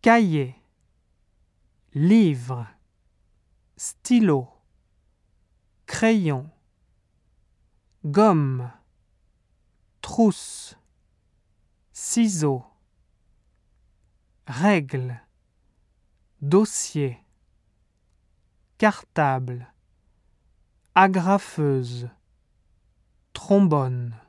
cahier, livre, stylo, crayon, gomme, trousse, ciseaux, règle, dossier, cartable, agrafeuse, trombone.